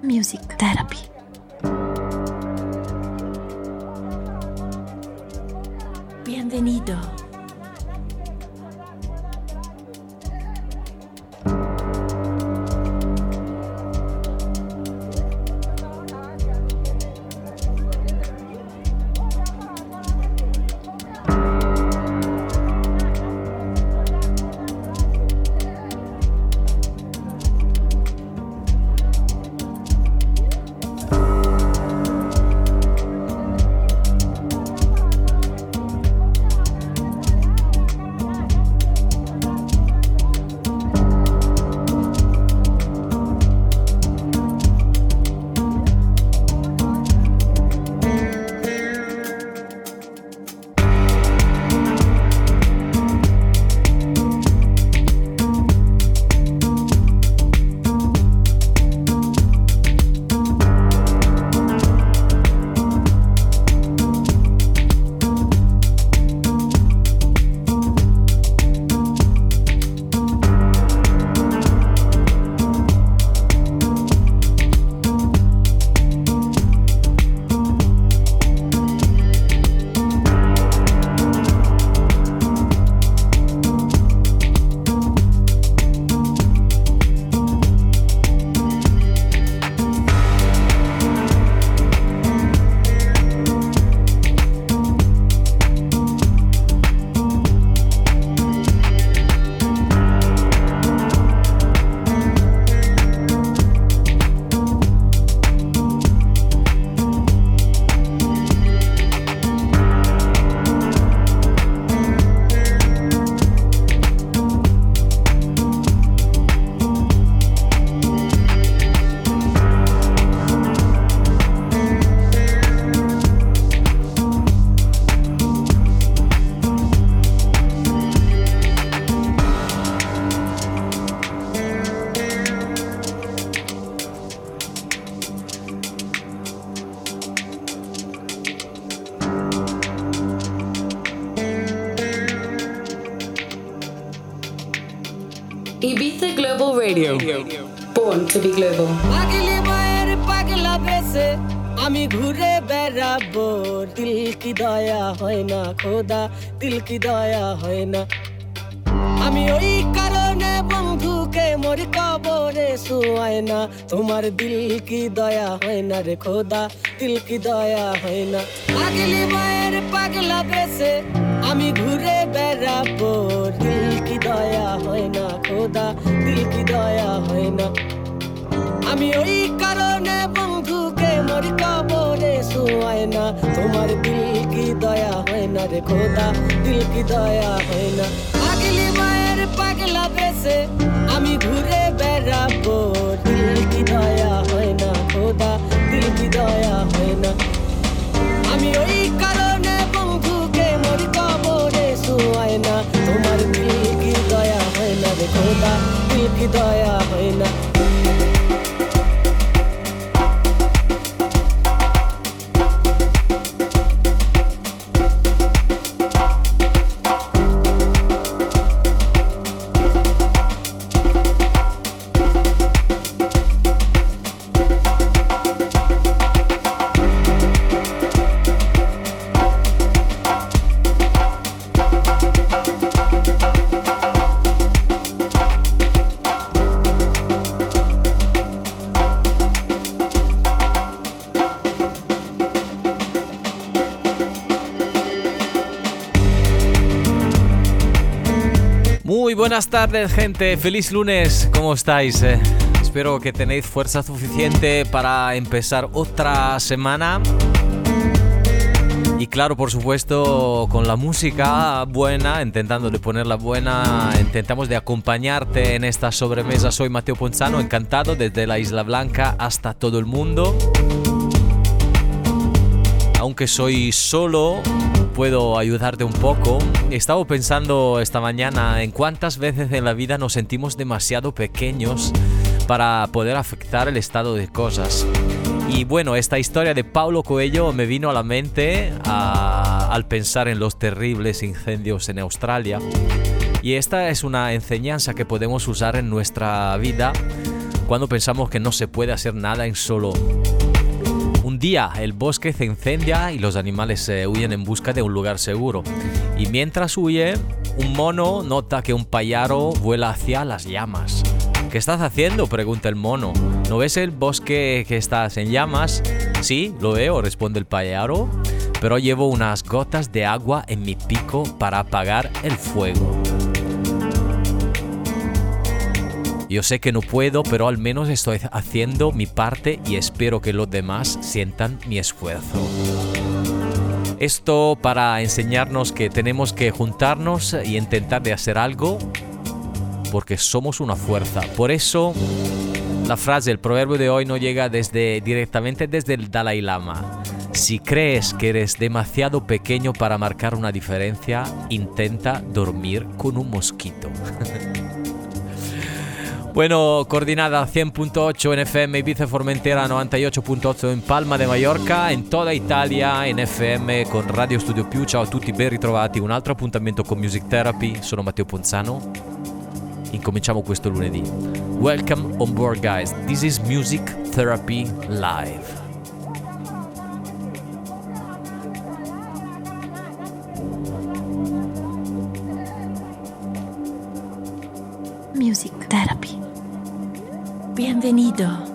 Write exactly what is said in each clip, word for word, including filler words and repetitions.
Music Therapy. Bienvenido. Ibiza Global Radio. Born to be global. পাগলি মায়ের পাগলা বেশে আমি ঘুরে বেড়াবো দিল কি দয়া হয় না খোদা দিল কি দয়া হয় না আমি ওই কারণে বন্ধুকে মোর কবরে শুয়াই না তোমার দিল কি দয়া হয় না রে খোদা দিল কি দয়া হয় না পাগলি মায়ের পাগলা বেশে আমি ঘুরে বেড়াবো দিল কি দয়া হয় না খোদা দিল কি দয়া হয় না আমি ওই কারণে বন্ধুকে মোর কবরে শুয়াই না তোমার দিল কি দয়া হয় না রে খোদা দিল কি দয়া হয় না পাগলি মায়ের পাগলা বেশে আমি ঘুরে বেড়াবো দিল কি দয়া হয় না খোদা দিল কি দয়া হয় না আমি ওই কারণে বন্ধুকে মোর কবরে শুয়াই না তোমার দিল কি দয়া হয় না রে খোদা দিল কি দয়া হয় না Muy buenas tardes, gente. Feliz lunes. ¿Cómo estáis? Eh, espero que tenéis fuerza suficiente para empezar otra semana. Y claro, por supuesto, con la música buena, intentando de ponerla buena, intentamos de acompañarte en esta sobremesa. Soy Matteo Ponzano, encantado desde la Isla Blanca hasta todo el mundo. Aunque soy solo, puedo ayudarte un poco. He estado pensando esta mañana en cuántas veces en la vida nos sentimos demasiado pequeños para poder afectar el estado de cosas. Y bueno, esta historia de Paulo Coelho me vino a la mente a, al pensar en los terribles incendios en Australia. Y esta es una enseñanza que podemos usar en nuestra vida cuando pensamos que no se puede hacer nada en solo. Un día el bosque se incendia y los animales eh, huyen en busca de un lugar seguro. Y mientras huye, un mono nota que un pájaro vuela hacia las llamas. ¿Qué estás haciendo?, pregunta el mono. ¿No ves el bosque que estás en llamas? Sí, lo veo, responde el pájaro, pero llevo unas gotas de agua en mi pico para apagar el fuego. Yo sé que no puedo, pero al menos estoy haciendo mi parte y espero que los demás sientan mi esfuerzo. Esto para enseñarnos que tenemos que juntarnos y intentar de hacer algo, porque somos una fuerza. Por eso la frase, el proverbio de hoy no llega desde, directamente desde el Dalai Lama. Si crees que eres demasiado pequeño para marcar una diferencia, intenta dormir con un mosquito. Bueno, coordinada cien punto ocho en F M Ibiza Formentera, novanta y ocho punto ocho in Palma de Mallorca, in tutta Italia in F M con Radio Studio Più. Ciao a tutti, ben ritrovati. Un altro appuntamento con Music Therapy. Sono Matteo Ponzano. Incominciamo questo lunedì. Welcome on board, guys. This is Music Therapy Live. Music Therapy. Bienvenido.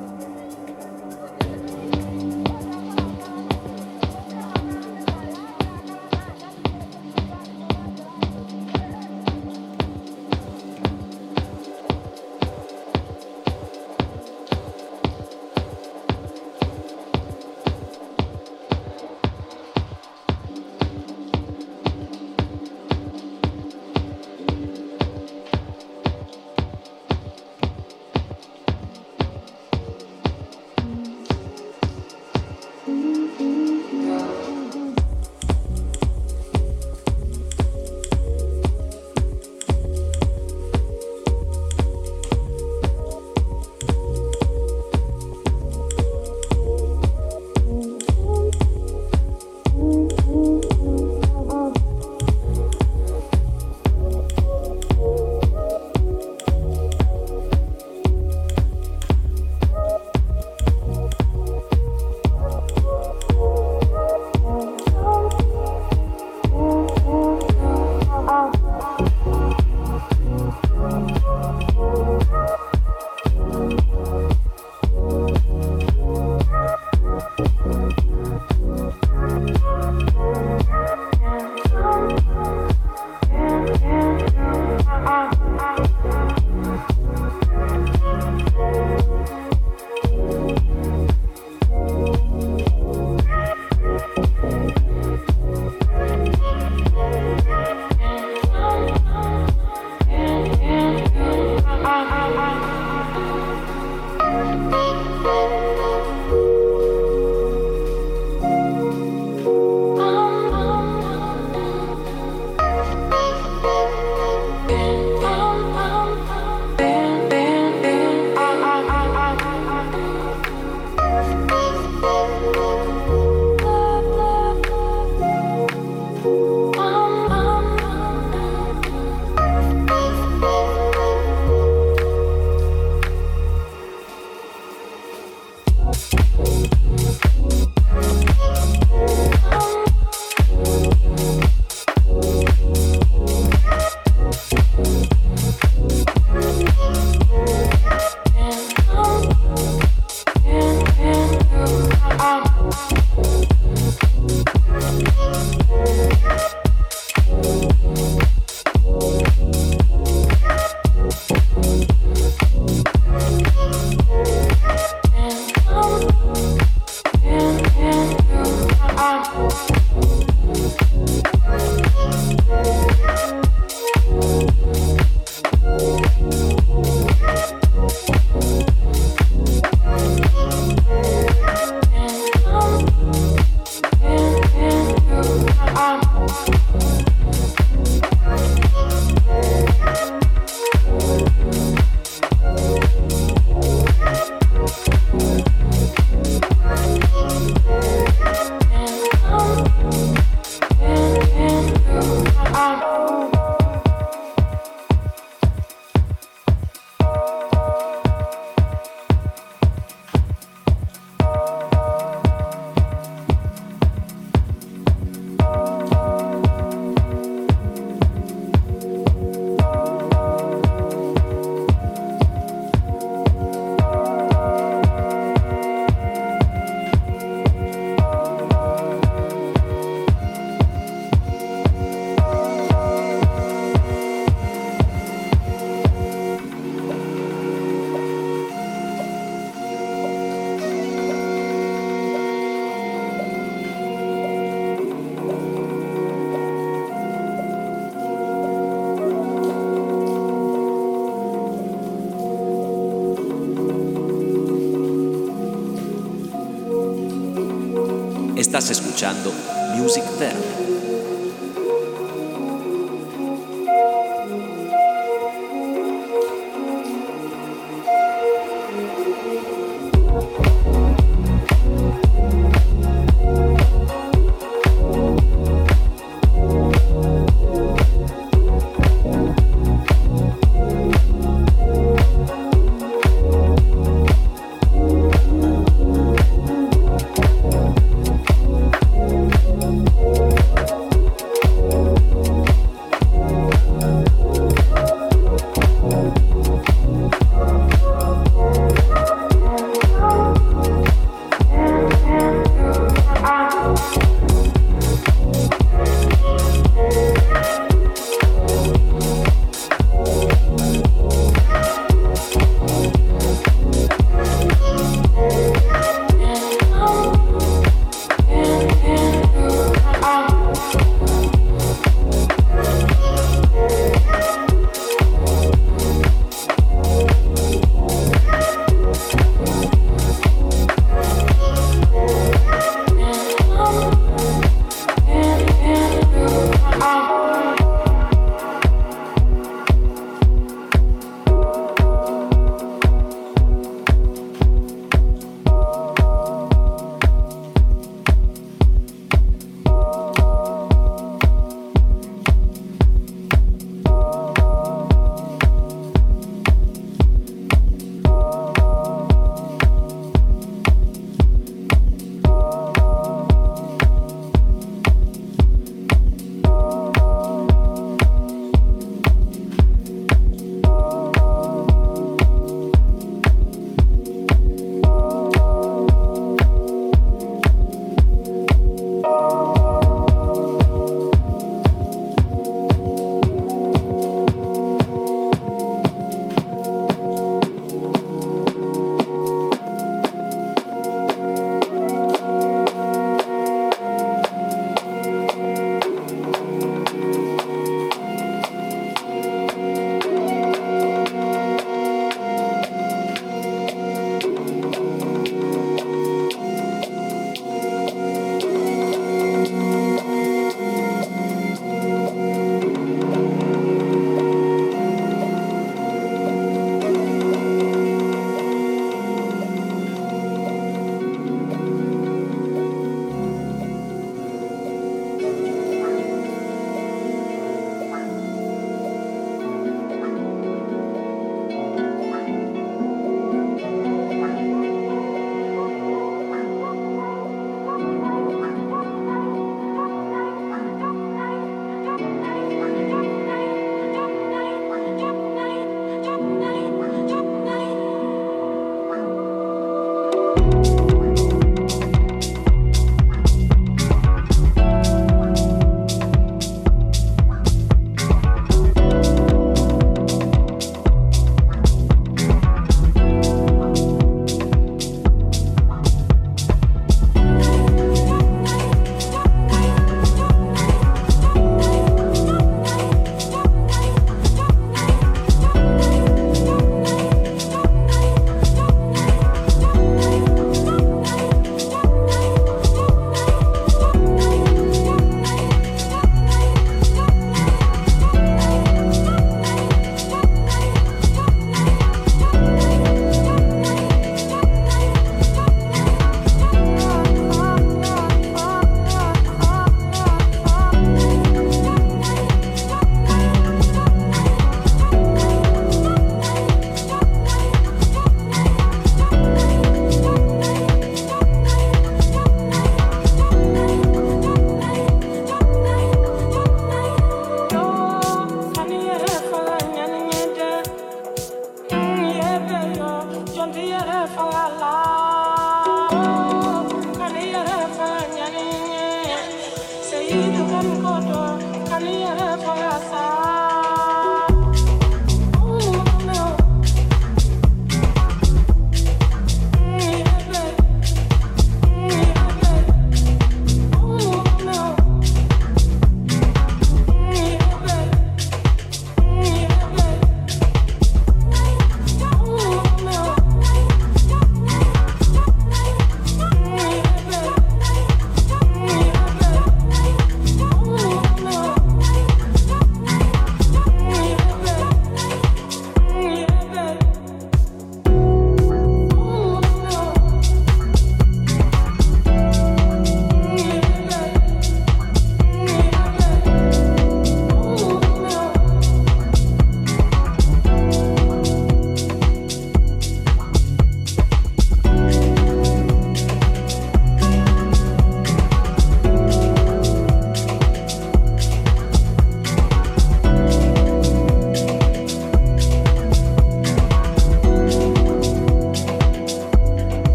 Estás escuchando Music Therapy.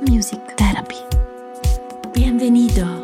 Music Therapy. Bienvenido.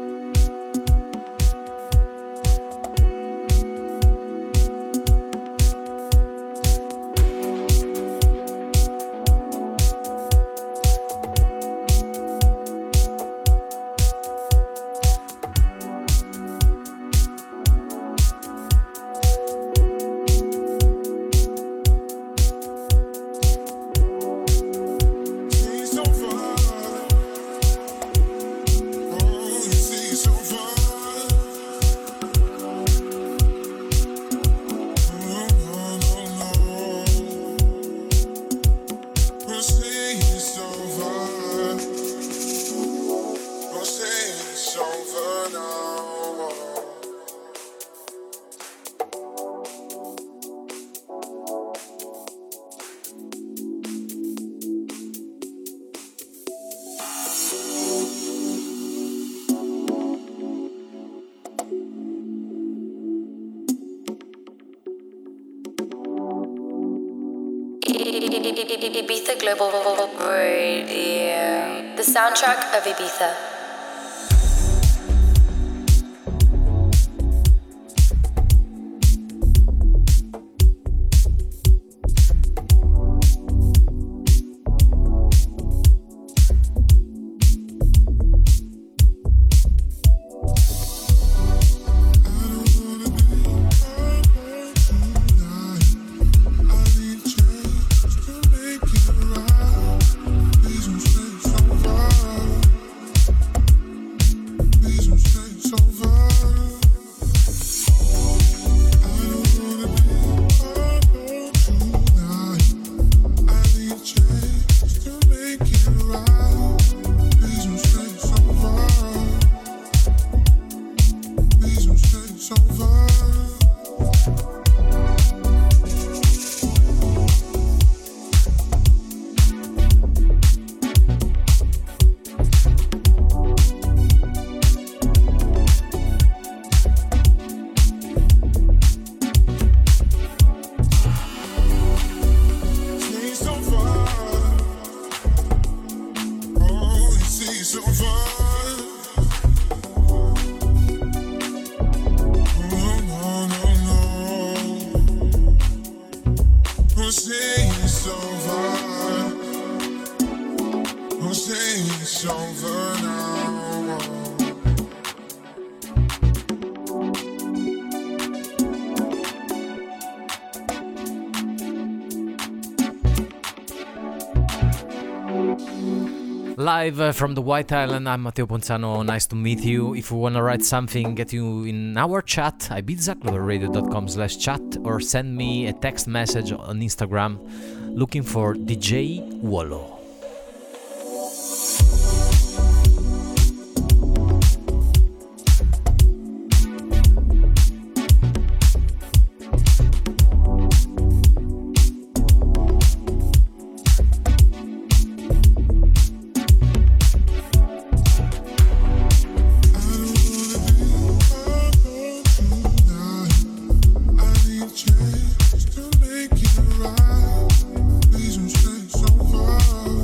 Ibiza Global Radio. The soundtrack of Ibiza. Live from the White Island, I'm Matteo Ponzano, nice to meet you. If you wanna write something, get you in our chat, ibiza global radio dot com slash chat, or send me a text message on Instagram looking for D J Wallo. Just to make it right, please don't stay so far.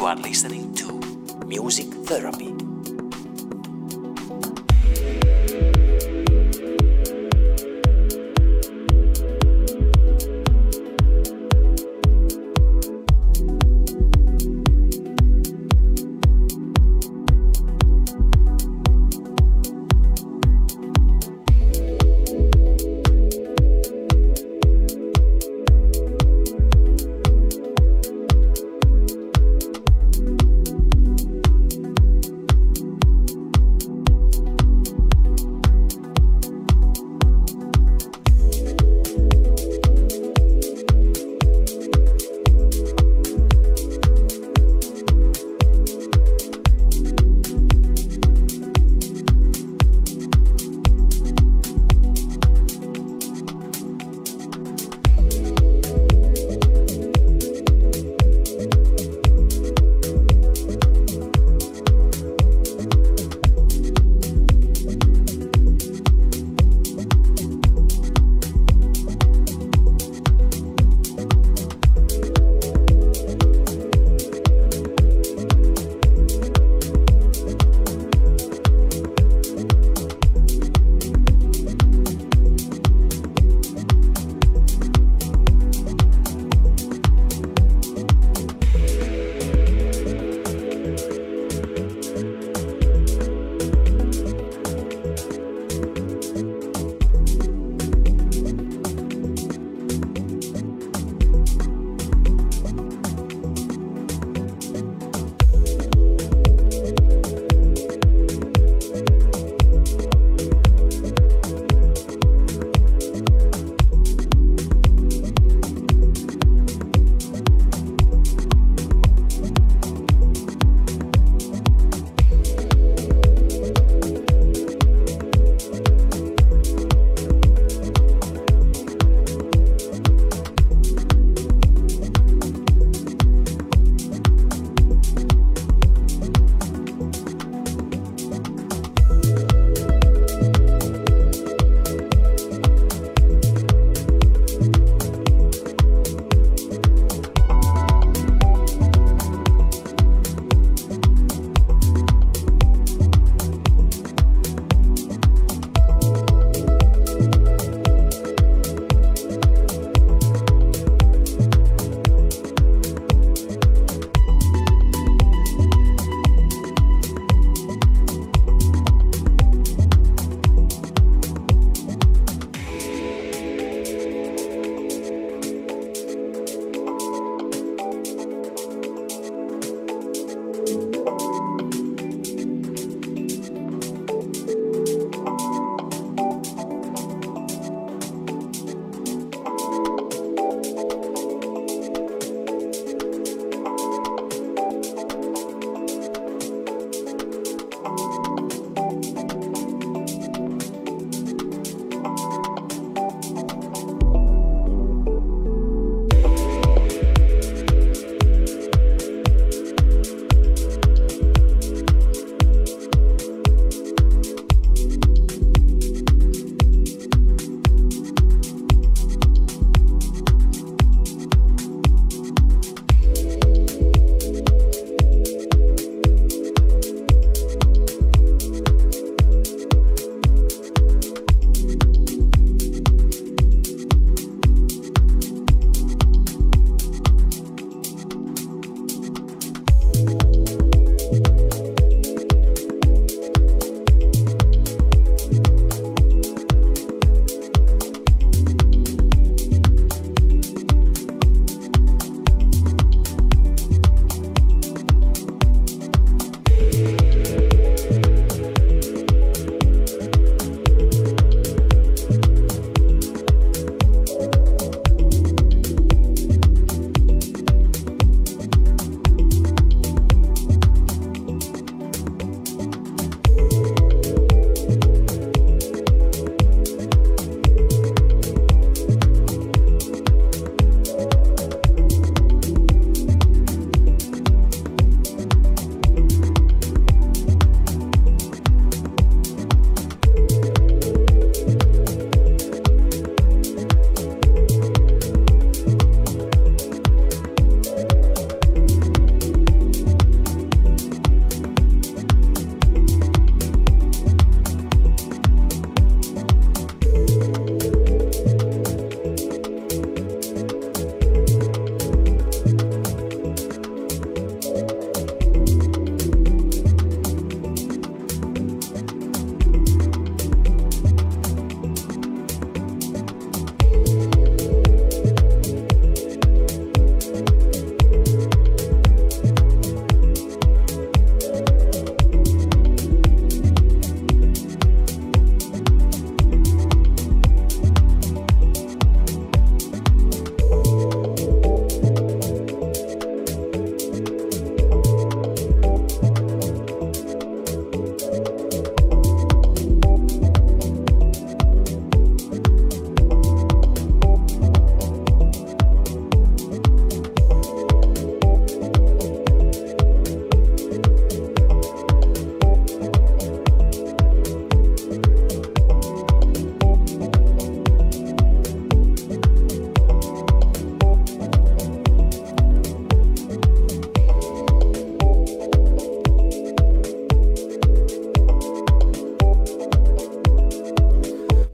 You are listening to Music Therapy.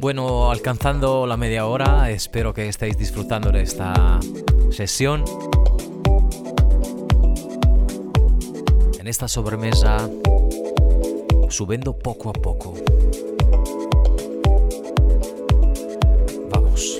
Bueno, alcanzando la media hora, espero que estéis disfrutando de esta sesión. En esta sobremesa, subiendo poco a poco. Vamos.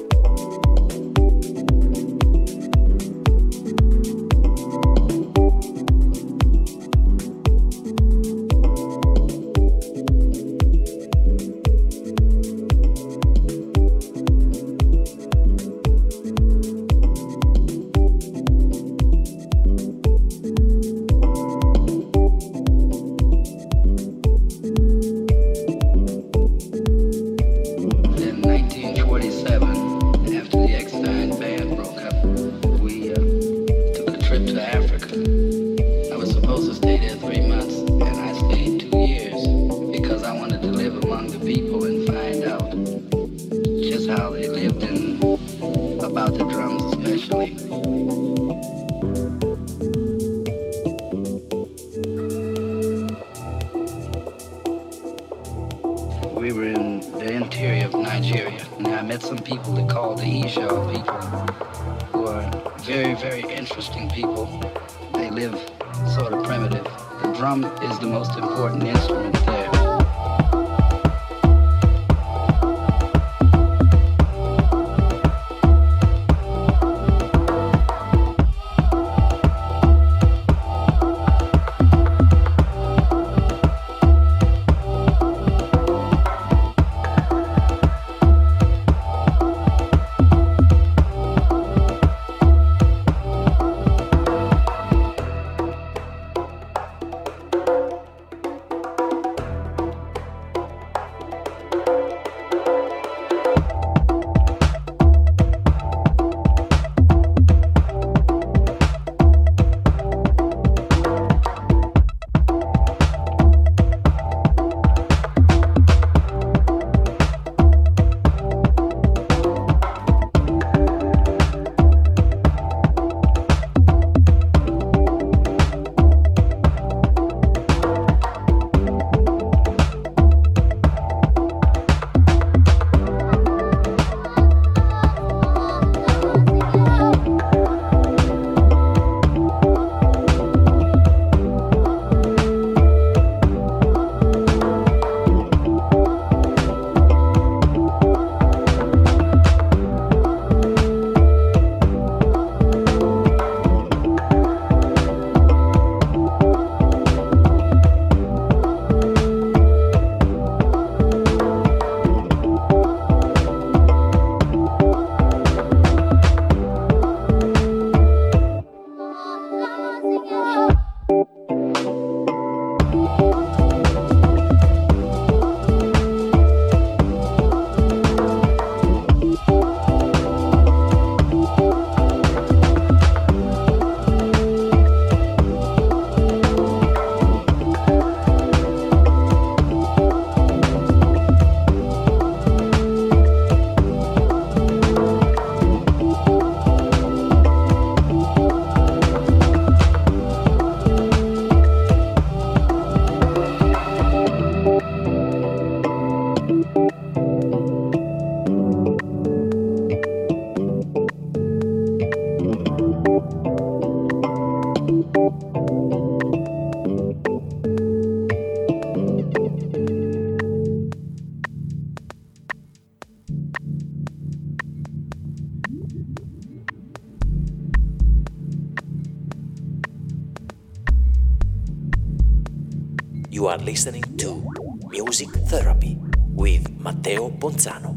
You are listening to Music Therapy with Matteo Bonzano.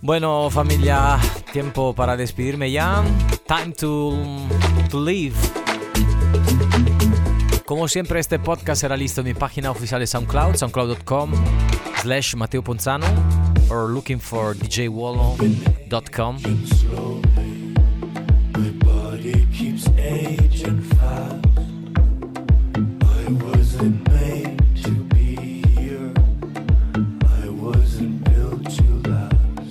Bueno, familia, tiempo para despedirme ya. Time to, to leave. Como siempre, este podcast será listo en mi página oficial de SoundCloud, soundcloud dot com slash Matteo Ponzano, or looking for d j wallo dot com. My body keeps aging fast. I wasn't made to be here. I wasn't built to last.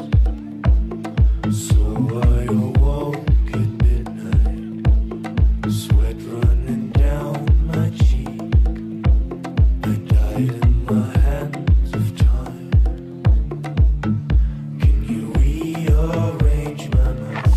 So I awoke at midnight, sweat running down my cheek. I died in the hands of time. Can you rearrange my mind?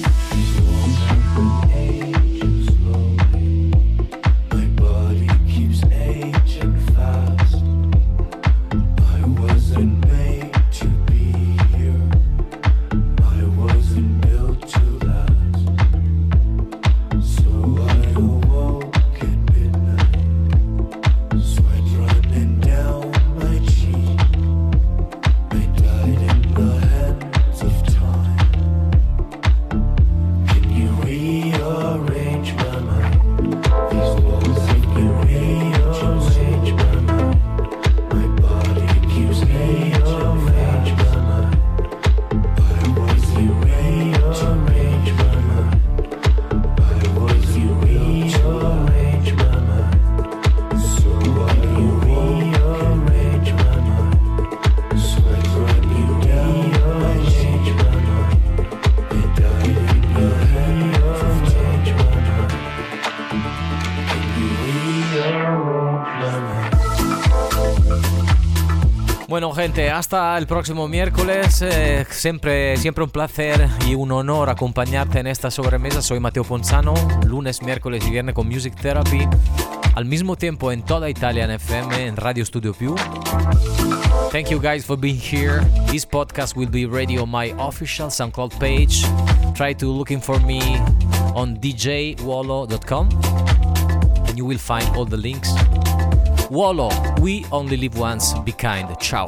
Bueno, gente, hasta el próximo miércoles. Eh, siempre, siempre un placer y un honor acompañarte en esta sobremesa. Soy Matteo Ponzano, lunes, miércoles y viernes con Music Therapy. Al mismo tiempo en toda Italia en F M, en Radio Studio Più. Thank you guys for being here. This podcast will be ready on my official SoundCloud page. Try to looking for me on d j wallo dot com and you will find all the links. Wallo, we only live once. Be kind. Ciao.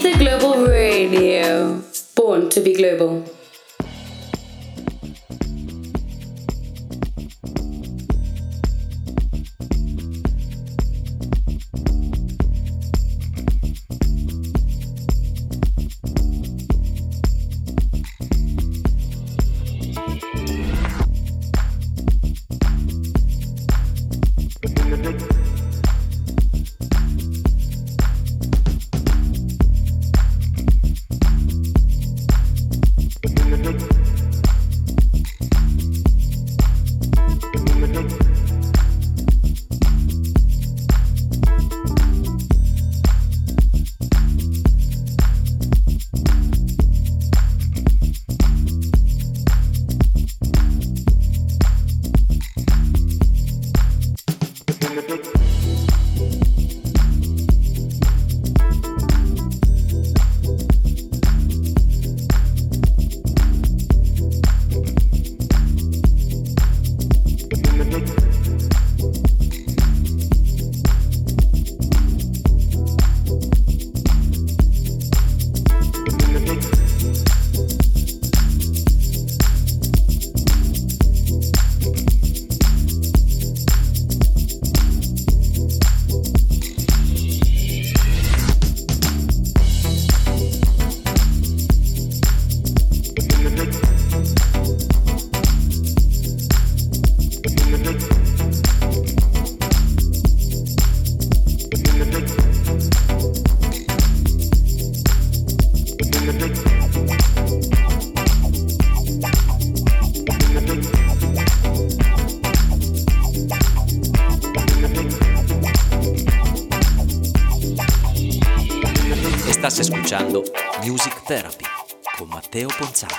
Ibiza Global Radio. Born to be global. Estás escuchando Music Therapy con Matteo Ponzano.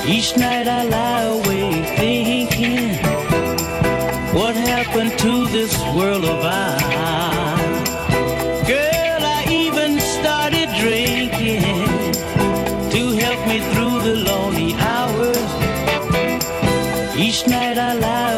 Each night I lie awake thinking, what happened to this world of ours? Girl, I even started drinking to help me through the lonely hours. Each night I lie